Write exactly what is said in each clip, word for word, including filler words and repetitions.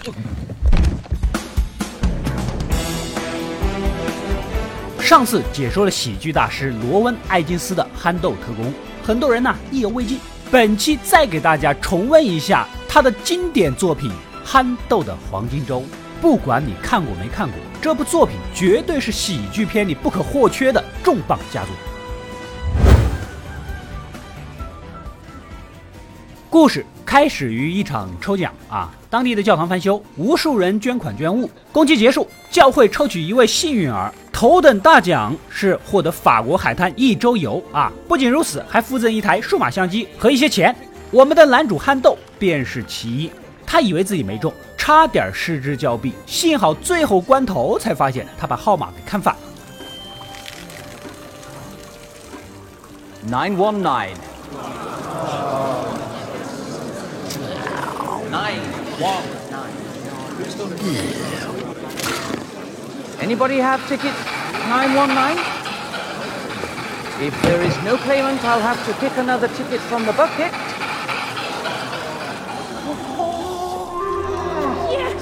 上次解说了喜剧大师罗温·艾金斯的《憨豆特工》，很多人呢意犹未尽。本期再给大家重温一下他的经典作品《憨豆的黄金周》。不管你看过没看过，这部作品绝对是喜剧片里不可或缺的重磅佳作。故事开始于一场抽奖啊，当地的教堂翻修，无数人捐款捐物。公祭结束，教会抽取一位幸运儿，头等大奖是获得法国海滩一周游啊！不仅如此，还附赠一台数码相机和一些钱。我们的男主憨豆便是其一，他以为自己没中，差点失之交臂，幸好最后关头才发现他把号码给看反了。 nine one nine nine one nine. Anybody have ticket nine one nine? If there is no claimant, I'll have to pick another ticket from the bucket. Yes!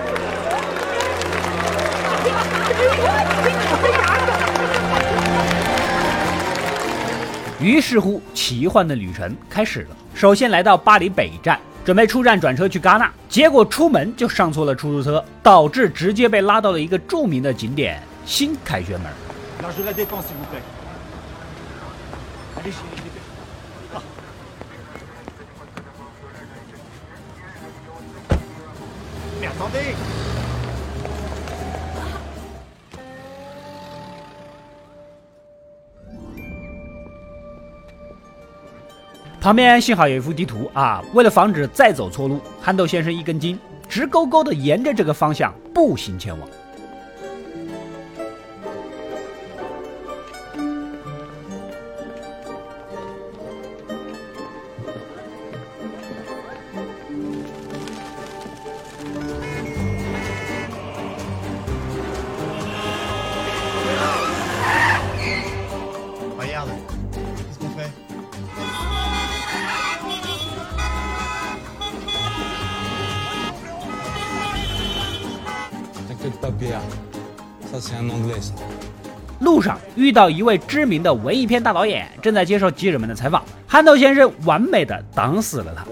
于是乎，奇幻的旅程开始了。首先来到巴黎北站，准备出站转车去戛纳，结果出门就上错了出租车，导致直接被拉到了一个著名的景点新凯旋门。旁边幸好有一幅地图啊，为了防止再走错路，憨豆先生一根筋，直勾勾的沿着这个方向步行前往。路上遇到一位知名的文艺片大导演，正在接受记者们的采访。憨豆先生完美的挡死了他。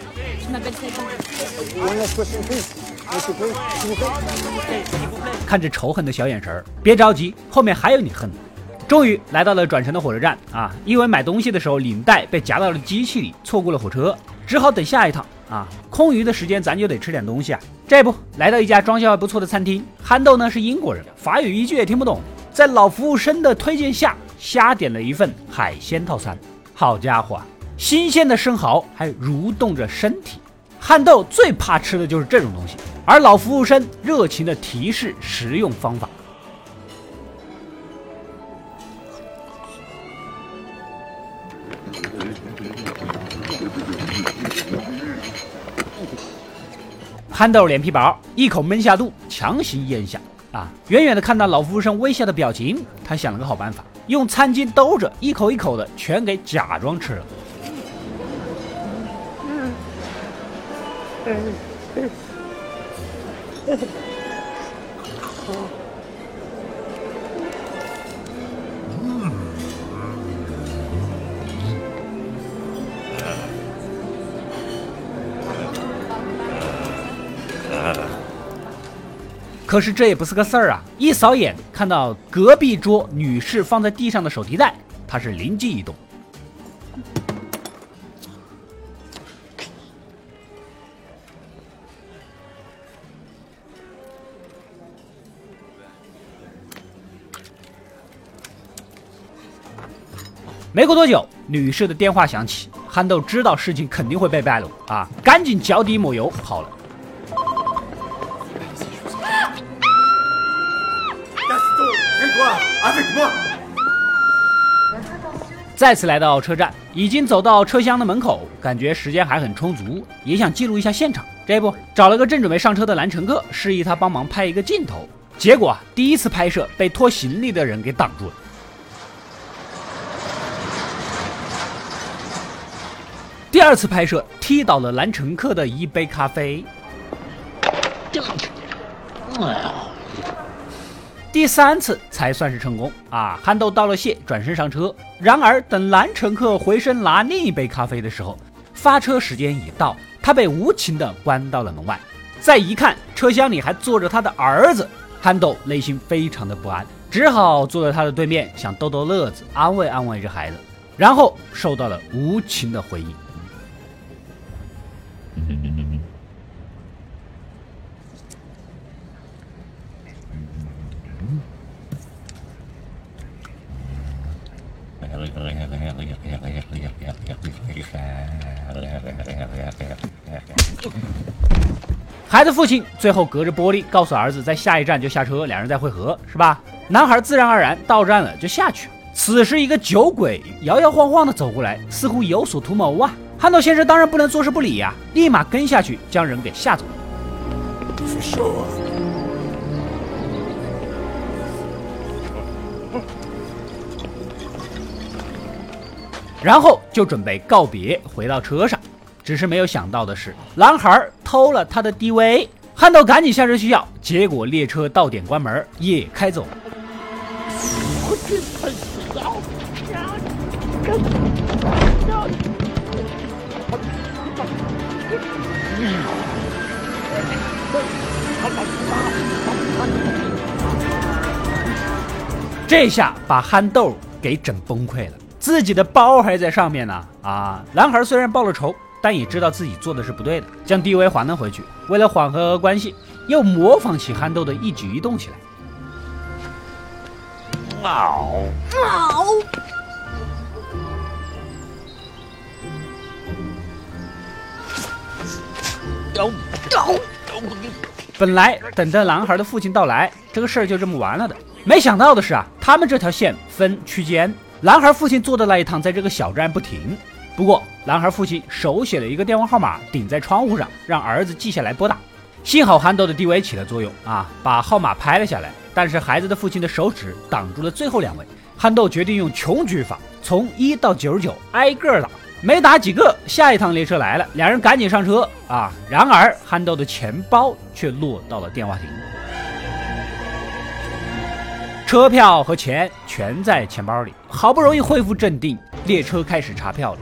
看着仇恨的小眼神，别着急，后面还有你恨的。终于来到了转乘的火车站啊，因为买东西的时候领带被夹到了机器里，错过了火车，只好等下一趟啊。空余的时间咱就得吃点东西啊。这不来到一家装修还不错的餐厅，憨豆呢是英国人，法语一句也听不懂，在老服务生的推荐下，瞎点了一份海鲜套餐。好家伙，新鲜的生蚝还蠕动着身体。憨豆最怕吃的就是这种东西，而老服务生热情的提示食用方法。憨豆脸皮薄，一口闷下肚，强行咽下。啊，远远的看到老服务生微笑的表情，他想了个好办法，用餐巾兜着，一口一口的全给假装吃了。可是这也不是个事儿啊！一扫眼看到隔壁桌女士放在地上的手提袋，他是灵机一动。没过多久，女士的电话响起，憨豆知道事情肯定会被败露啊，赶紧脚底抹油跑了。再次来到车站，已经走到车厢的门口，感觉时间还很充足，也想记录一下现场。这不找了个正准备上车的男乘客，示意他帮忙拍一个镜头。结果啊，第一次拍摄被拖行李的人给挡住了。第二次拍摄踢倒了男乘客的一杯咖啡。 第三次才算是成功啊！憨豆道了谢，转身上车。然而等男乘客回身拿另一杯咖啡的时候，发车时间已到，他被无情地关到了门外。再一看，车厢里还坐着他的儿子，憨豆内心非常的不安，只好坐在他的对面，想逗逗乐子，安慰安慰这孩子，然后受到了无情的回应。孩子父亲最后隔着玻璃告诉儿子，在下一站就下车，两人再会合，是吧？男孩自然而然到站了就下去。此时一个酒鬼摇摇晃晃的走过来，似乎有所图谋啊！憨豆先生当然不能坐视不理呀、啊，立马跟下去将人给吓走了。For sure. 然后就准备告别，回到车上。只是没有想到的是，男孩偷了他的 D V。憨豆赶紧下车去要，结果列车到点关门，也开走了。这下把憨豆给整崩溃了。自己的包还在上面呢啊！男孩虽然报了仇，但也知道自己做的是不对的，将 D V 还了回去。为了缓和关系，又模仿起憨豆的一举一动起来。嗷嗷！本来等着男孩的父亲到来，这个事儿就这么完了的。没想到的是啊，他们这条线分区间。男孩父亲坐的那一趟在这个小站不停，不过男孩父亲手写了一个电话号码顶在窗户上，让儿子记下来拨打。幸好憨豆的 D V 起了作用啊，把号码拍了下来，但是孩子的父亲的手指挡住了最后两位。憨豆决定用穷举法，从一到九十九挨个打，没打几个，下一趟列车来了，两人赶紧上车啊。然而憨豆的钱包却落到了电话亭。车票和钱全在钱包里，好不容易恢复镇定，列车开始查票了。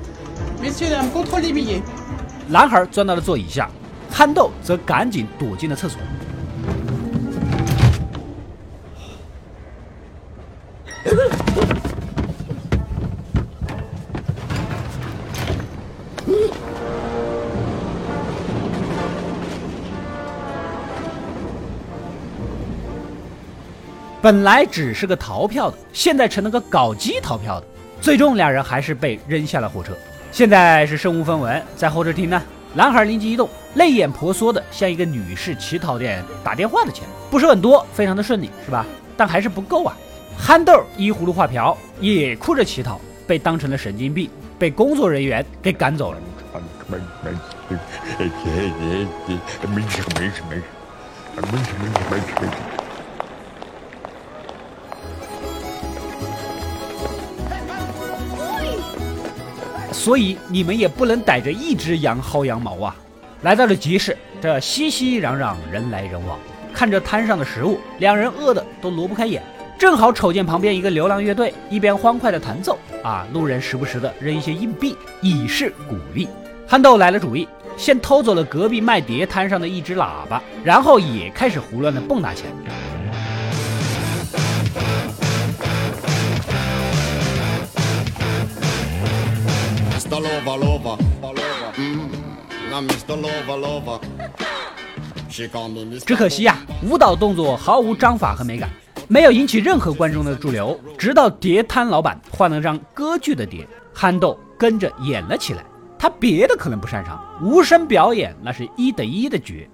男孩钻到了座椅下，憨豆则赶紧躲进了厕所。本来只是个逃票的，现在成了个搞基逃票的。最终两人还是被扔下了火车。现在是身无分文，在候车厅呢，男孩灵机一动，泪眼婆娑的向一个女士乞讨店打电话的钱，不是很多，非常的顺利，是吧？但还是不够啊。憨豆依葫芦画瓢，也哭着乞讨，被当成了神经病，被工作人员给赶走了。所以你们也不能逮着一只羊薅羊毛啊！来到了集市，这熙熙攘攘，人来人往，看着摊上的食物，两人饿得都挪不开眼。正好瞅见旁边一个流浪乐队一边欢快的弹奏啊，路人时不时的扔一些硬币以示鼓励。憨豆来了主意，先偷走了隔壁卖碟摊上的一只喇叭，然后也开始胡乱的蹦跶起来。只可惜呀、啊，舞蹈动作毫无章法和美感，没有引起任何观众的驻留。直到碟摊老板换了张歌剧的碟，憨豆跟着演了起来。他别的可能不擅长，无声表演那是一等一的绝。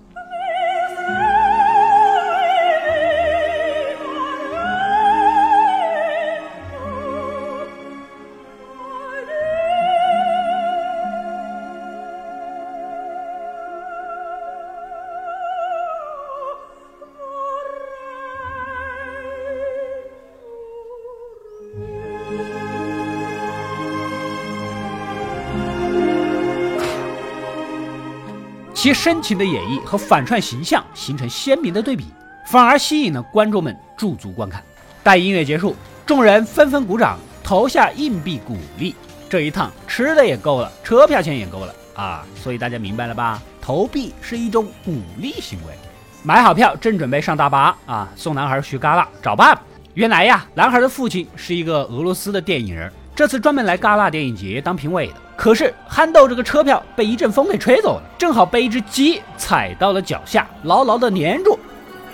其深情的演绎和反串形象形成鲜明的对比，反而吸引了观众们驻足观看。待音乐结束，众人纷纷鼓掌，投下硬币鼓励。这一趟吃的也够了，车票钱也够了啊！所以大家明白了吧？投币是一种鼓励行为。买好票，正准备上大巴啊，送男孩去戛纳找爸爸。原来呀，男孩的父亲是一个俄罗斯的电影人，这次专门来戛纳电影节当评委的。可是憨豆这个车票被一阵风给吹走了，正好被一只鸡踩到了脚下，牢牢的粘住。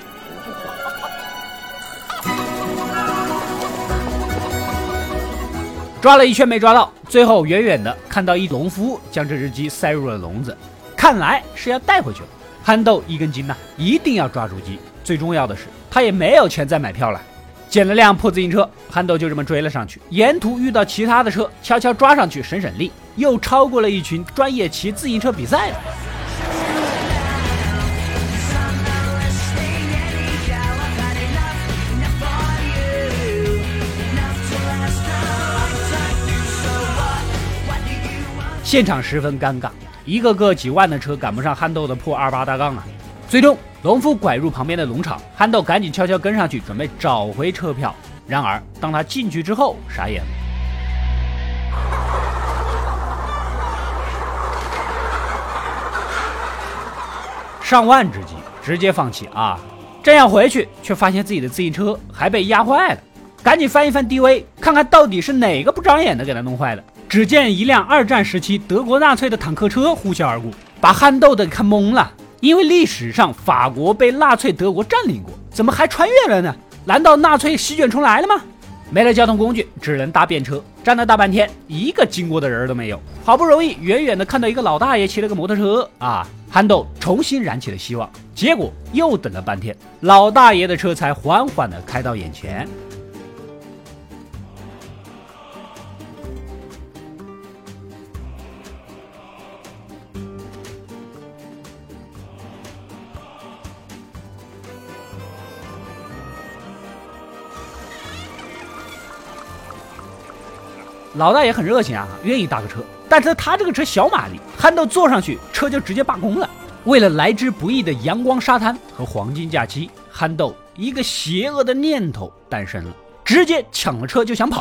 抓了一圈没抓到，最后远远的看到一农夫将这只鸡塞入了笼子，看来是要带回去了。憨豆一根筋呐、啊，一定要抓住鸡。最重要的是，他也没有钱再买票了。捡了辆破自行车，憨豆就这么追了上去。沿途遇到其他的车，悄悄抓上去省省力，又超过了一群专业骑自行车比赛的。现场十分尴尬，一个个几万的车赶不上憨豆的破二八大杠啊！最终，农夫拐入旁边的农场，憨豆赶紧悄悄跟上去，准备找回车票。然而，当他进去之后，傻眼了。上万只鸡，直接放弃啊！正要回去，却发现自己的自行车还被压坏了，赶紧翻一翻 D V， 看看到底是哪个不长眼的给他弄坏的。只见一辆二战时期德国纳粹的坦克车呼啸而过，把憨豆的看懵了。因为历史上法国被纳粹德国占领过，怎么还穿越了呢？难道纳粹席卷重来了吗？没了交通工具，只能搭便车，站了大半天，一个经过的人都没有。好不容易远远的看到一个老大爷骑了个摩托车啊，憨豆重新燃起了希望。结果又等了半天，老大爷的车才缓缓的开到眼前。老大爷很热情啊，愿意搭个车，但是他这个车小马力，憨豆坐上去，车就直接罢工了。为了来之不易的阳光沙滩和黄金假期，憨豆一个邪恶的念头诞生了，直接抢了车就想跑。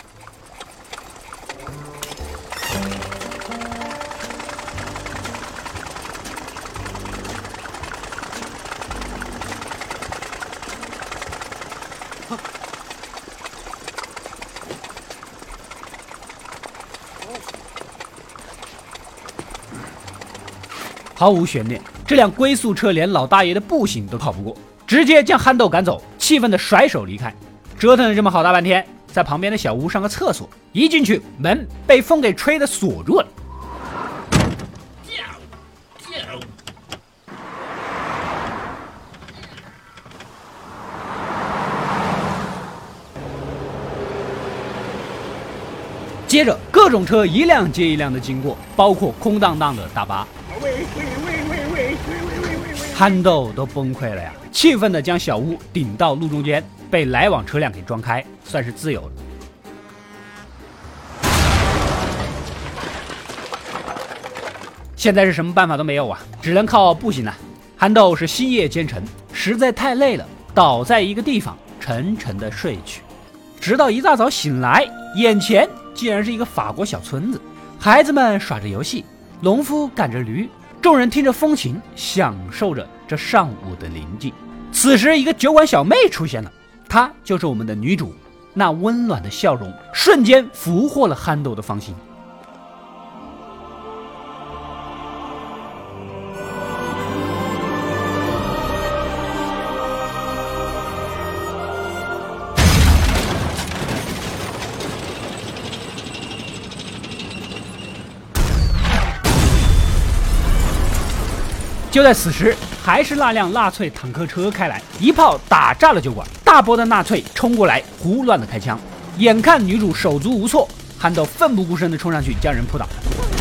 毫无悬念，这辆龟速车连老大爷的步行都跑不过，直接将憨豆赶走，气愤的甩手离开。折腾了这么好大半天，在旁边的小屋上个厕所，一进去门被风给吹得锁住了。接着各种车一辆接一辆的经过，包括空荡荡的大巴。憨豆都崩溃了呀，气愤地将小屋顶到路中间，被来往车辆给撞开，算是自由了。现在是什么办法都没有啊，只能靠步行了。憨豆是星夜兼程，实在太累了，倒在一个地方沉沉地睡去，直到一大早醒来，眼前竟然是一个法国小村子，孩子们耍着游戏，农夫赶着驴，众人听着风琴，享受着这上午的宁静。此时一个酒馆小妹出现了，她就是我们的女主，那温暖的笑容瞬间俘获了憨豆的芳心。就在此时，还是那辆纳粹坦克车开来，一炮打炸了酒馆。大波的纳粹冲过来，胡乱的开枪。眼看女主手足无措，憨豆奋不顾身的冲上去，将人扑倒。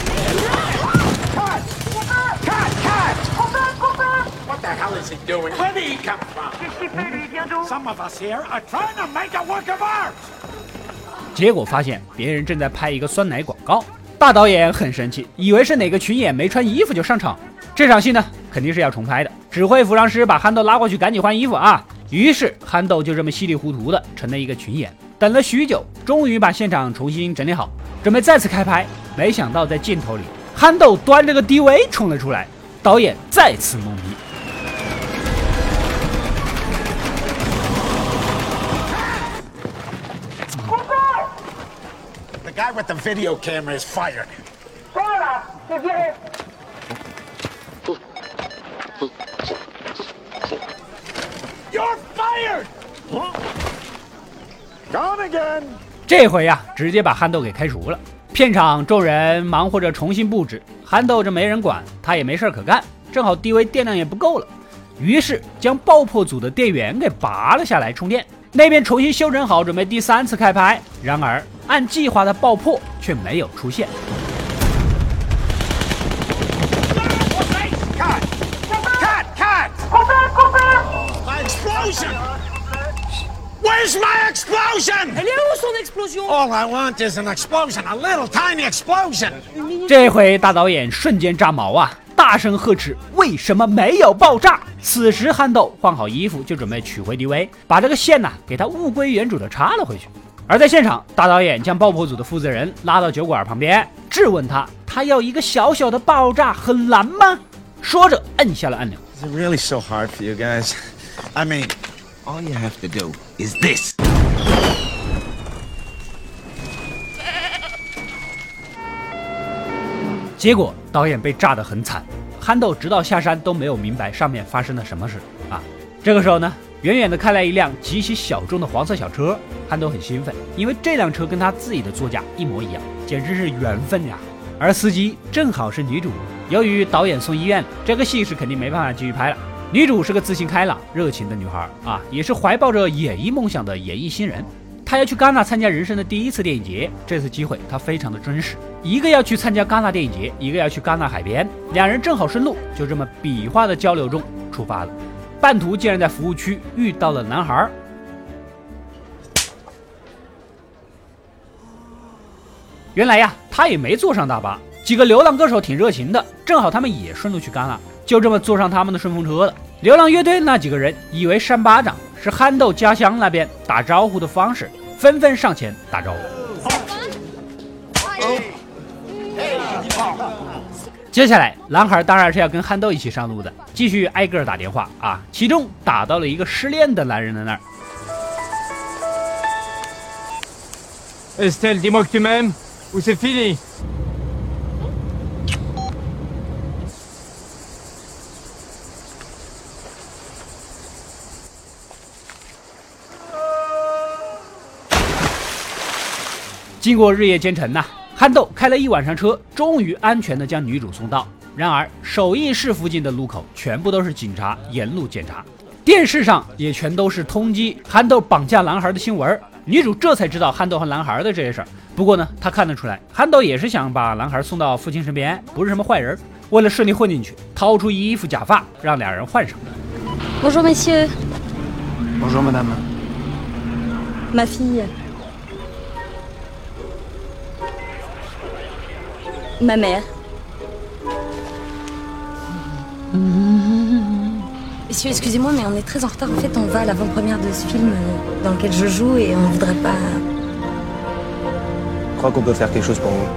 结果发现别人正在拍一个酸奶广告，大导演很生气，以为是哪个群演没穿衣服就上场。 这场戏呢肯定是要重拍的，指挥服装师把憨豆拉过去赶紧换衣服啊。于是憨豆就这么稀里糊涂的成了一个群演。等了许久，终于把现场重新整理好，准备再次开拍。没想到在镜头里，憨豆端着个 D V 冲了出来，导演再次懵逼。 The guy with the video camera is fired. You're fired. Gone again. 这回呀、啊，直接把憨豆给开除了。片场众人忙活着重新布置，憨豆这没人管，他也没事可干，正好 D V 电量也不够了，于是将爆破组的电源给拔了下来充电。那边重新修整好，准备第三次开拍。然而按计划的爆破却没有出现。 Cut! Cut! Cut! My explosion! Where's my explosion? Elle est où son explosion? All I want is an explosion, a little tiny explosion. 这回大导演瞬间炸毛啊！大声呵斥：“为什么没有爆炸？”此时憨豆换好衣服就准备取回 D V， 把这个线呢给他物归原主的插了回去。而在现场，大导演将爆破组的负责人拉到酒馆旁边，质问他：“他要一个小小的爆炸很难吗？”说着摁下了按钮。 Is it really so hard for you guys? I mean, all you have to do is this. 结果导演被炸得很惨，憨豆直到下山都没有明白上面发生了什么事啊！这个时候呢，远远的开来一辆极其小众的黄色小车，憨豆很兴奋，因为这辆车跟他自己的座驾一模一样，简直是缘分呀！而司机正好是女主。由于导演送医院，这个戏是肯定没办法继续拍了。女主是个自信开朗、热情的女孩啊，也是怀抱着演艺梦想的演艺新人。她要去戛纳参加人生的第一次电影节，这次机会她非常的珍视。一个要去参加戛纳电影节，一个要去戛纳海边，两人正好顺路，就这么比划的交流中出发了。半途竟然在服务区遇到了男孩。原来呀，他也没坐上大巴。几个流浪歌手挺热情的，正好他们也顺路去戛纳，就这么坐上他们的顺风车了。流浪乐队那几个人以为扇巴掌是憨豆家乡那边打招呼的方式，纷纷上前打招呼。接下来，男孩当然是要跟憨豆一起上路的，继续挨个打电话啊，其中打到了一个失恋的男人的那儿。 Estelle, dis-moi que tu m'aimes, ou c'est fini. « 经过日夜兼程呐、啊，憨豆开了一晚上车，终于安全地将女主送到。然而，首映室附近的路口全部都是警察沿路检查，电视上也全都是通缉憨豆绑架男孩的新闻。女主这才知道憨豆和男孩的这些事儿。不过呢，她看得出来，憨豆也是想把男孩送到父亲身边，不是什么坏人。为了顺利混进去，掏出衣服假发，让两人换上。 Bonjour messieurs. Bonjour madame. Ma fille. Ma mère. Messieurs, excusez-moi, mais on est très en retard. En fait, on va à l'avant-première de ce film dans lequel je joue et on voudrait pas... Je crois qu'on peut faire quelque chose pour vous.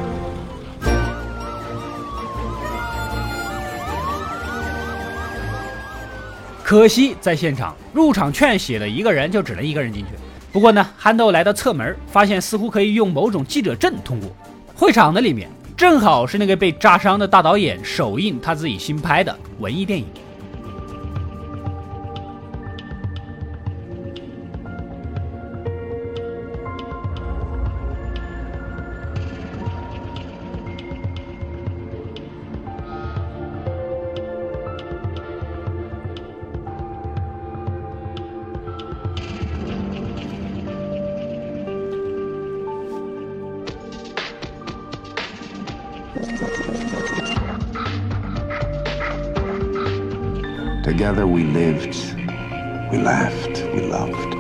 可惜在现场，入场券写了一个人，就只能一个人进去。不过呢，憨豆来到侧门，发现似乎可以用某种记者证通过。会场的里面正好是那个被炸伤的大导演首映他自己新拍的文艺电影。 Together we lived, we laughed, we loved.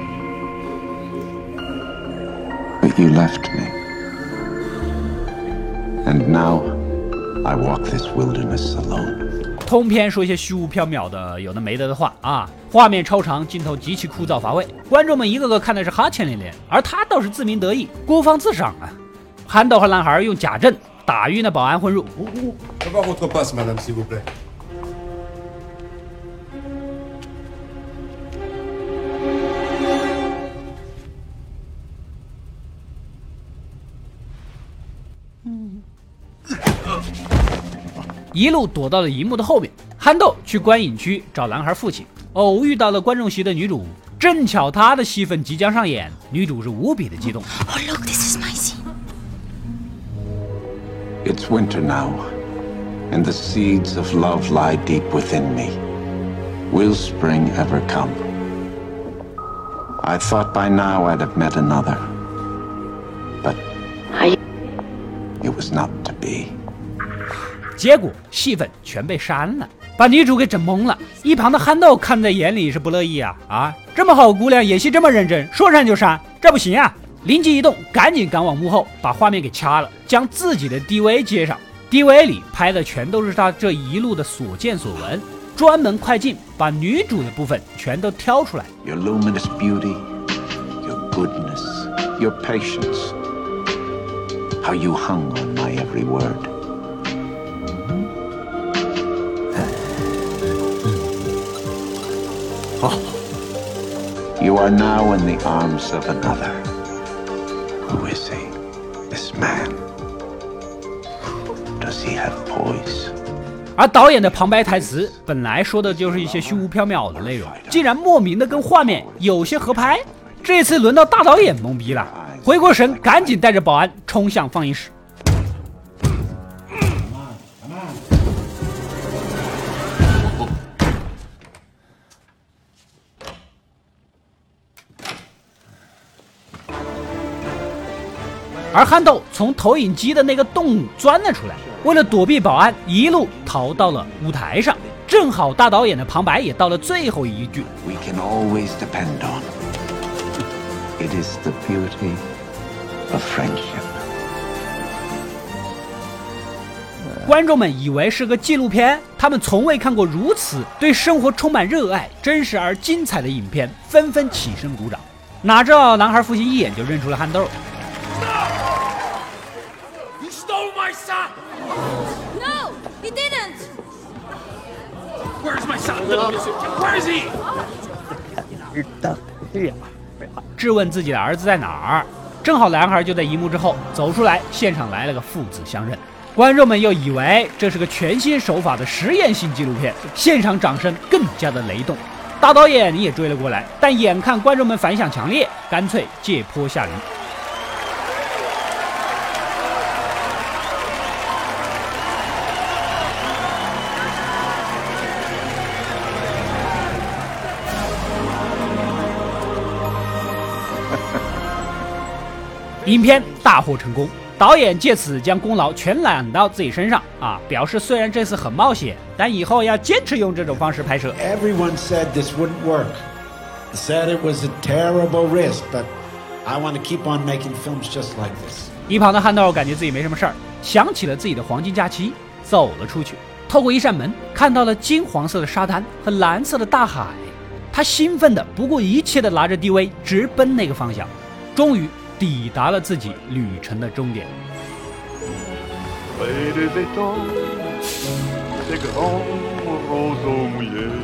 But you left me. And now I walk this wilderness alone. 通篇说一些虚无缥缈的有的没的的话啊，画面超长，镜头极其枯燥乏味，观众们一个个看的是哈欠连连，而他倒是自鸣得意，孤芳自赏啊。憨豆和男孩用假证打晕了保安混入。一路躲到了荧幕的后面。憨豆去观影区找男孩父亲，偶遇到了观众席的女主，正巧她的戏份即将上演，女主是无比的激动。 Oh look, this is my scene. It's winter now, and the seeds of love lie deep within me. Will spring ever come? I thought by now I'd have met another, but it was not to be. 结果戏份全被删了，把女主给整懵了。一旁的憨豆看在眼里是不乐意啊啊！这么好姑娘演戏这么认真，说删就删，这不行啊！灵机一动，赶紧赶往幕后，把画面给掐了，将自己的 D V 接上。D V 里拍的全都是他这一路的所见所闻，专门快进把女主的部分全都挑出来。 Your luminous beauty, your goodness, your patience, how you hung on my every word. You are now in the arms of another. Who is he? This man. Does he have poise? 而导演的旁白台词本来说的就是一些虚无缥缈的内容，竟然莫名的跟画面有些合拍。这次轮到大导演懵逼了，回过神，赶紧带着保安冲向放映室。而憨豆从投影机的那个洞钻了出来，为了躲避保安，一路逃到了舞台上。正好大导演的旁白也到了最后一句 We can always depend on. It is the beauty of friendship. 观众们以为是个纪录片，他们从未看过如此对生活充满热爱、真实而精彩的影片，纷纷起身鼓掌。哪知道男孩父亲一眼就认出了憨豆。 You stole my son! No, he didn't. Where's my son? Where is he? 质问自己的儿子在哪儿，正好男孩就在荧幕之后走出来，现场来了个父子相认。观众们又以为这是个全新手法的实验性纪录片，现场掌声更加的雷动。大导演也追了过来，但眼看观众们反响强烈，干脆借坡下驴。影片大获成功，导演借此将功劳全揽到自己身上啊！表示虽然这次很冒险，但以后要坚持用这种方式拍摄。 Everyone said this wouldn't work. They said it was a terrible risk, but I want to keep on making films just like this. 一旁的憨豆感觉自己没什么事儿，想起了自己的黄金假期，走了出去。透过一扇门，看到了金黄色的沙滩和蓝色的大海，他兴奋的不顾一切的拿着 D V 直奔那个方向，终于抵达了自己旅程的终点。 Près des étangs, ces grands roseaux mouillés.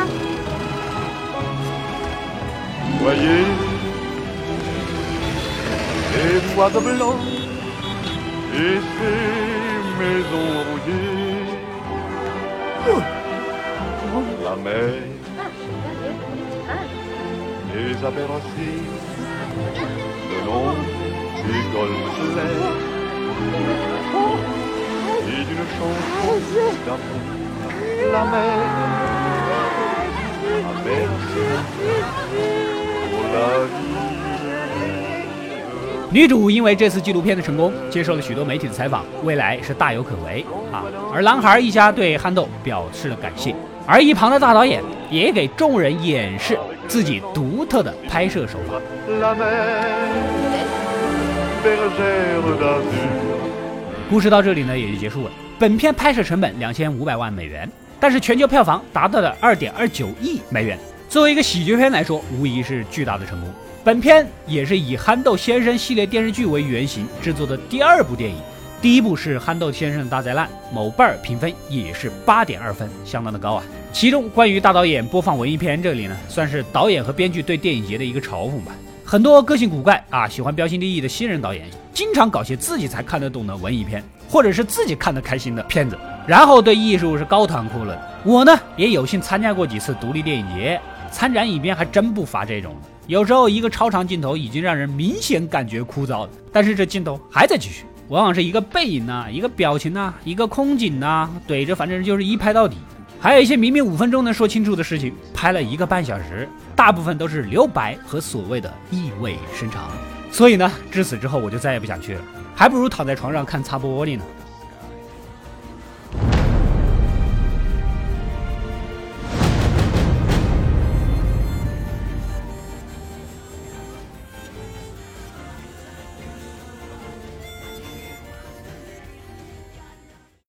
Voyez les bois blancs et ces maisons rouillées. La mer, les aberrations, le long des golfes clairs et d'une chanson d'amour. La mer a bercé pour la vie. 女主因为这次纪录片的成功，接受了许多媒体的采访，未来是大有可为啊。而男孩一家对憨豆表示了感谢，而一旁的大导演也给众人演示自己独特的拍摄手法。故事到这里呢也就结束了。本片拍摄成本两千五百万美元， 但是全球票房达到了 二点二九亿美元。作为一个喜剧片来说，无疑是巨大的成功。本片也是以憨豆先生系列电视剧为原型制作的第二部电影。第一部是憨豆先生的大灾难，某瓣儿评分也是 八点二分，相当的高啊。其中关于大导演播放文艺片这里呢，算是导演和编剧对电影节的一个嘲讽吧。很多个性古怪啊，喜欢标新立异的新人导演，经常搞些自己才看得懂的文艺片，或者是自己看得开心的片子，然后对艺术是高谈阔论。我呢也有幸参加过几次独立电影节，参展影片还真不乏这种的。有时候一个超长镜头已经让人明显感觉枯燥了，但是这镜头还在继续，往往是一个背影啊，一个表情啊，一个空景啊，怼着反正就是一拍到底。还有一些明明五分钟能说清楚的事情，拍了一个半小时，大部分都是留白和所谓的意味深长。所以呢，至此之后我就再也不想去了，还不如躺在床上看擦玻璃呢。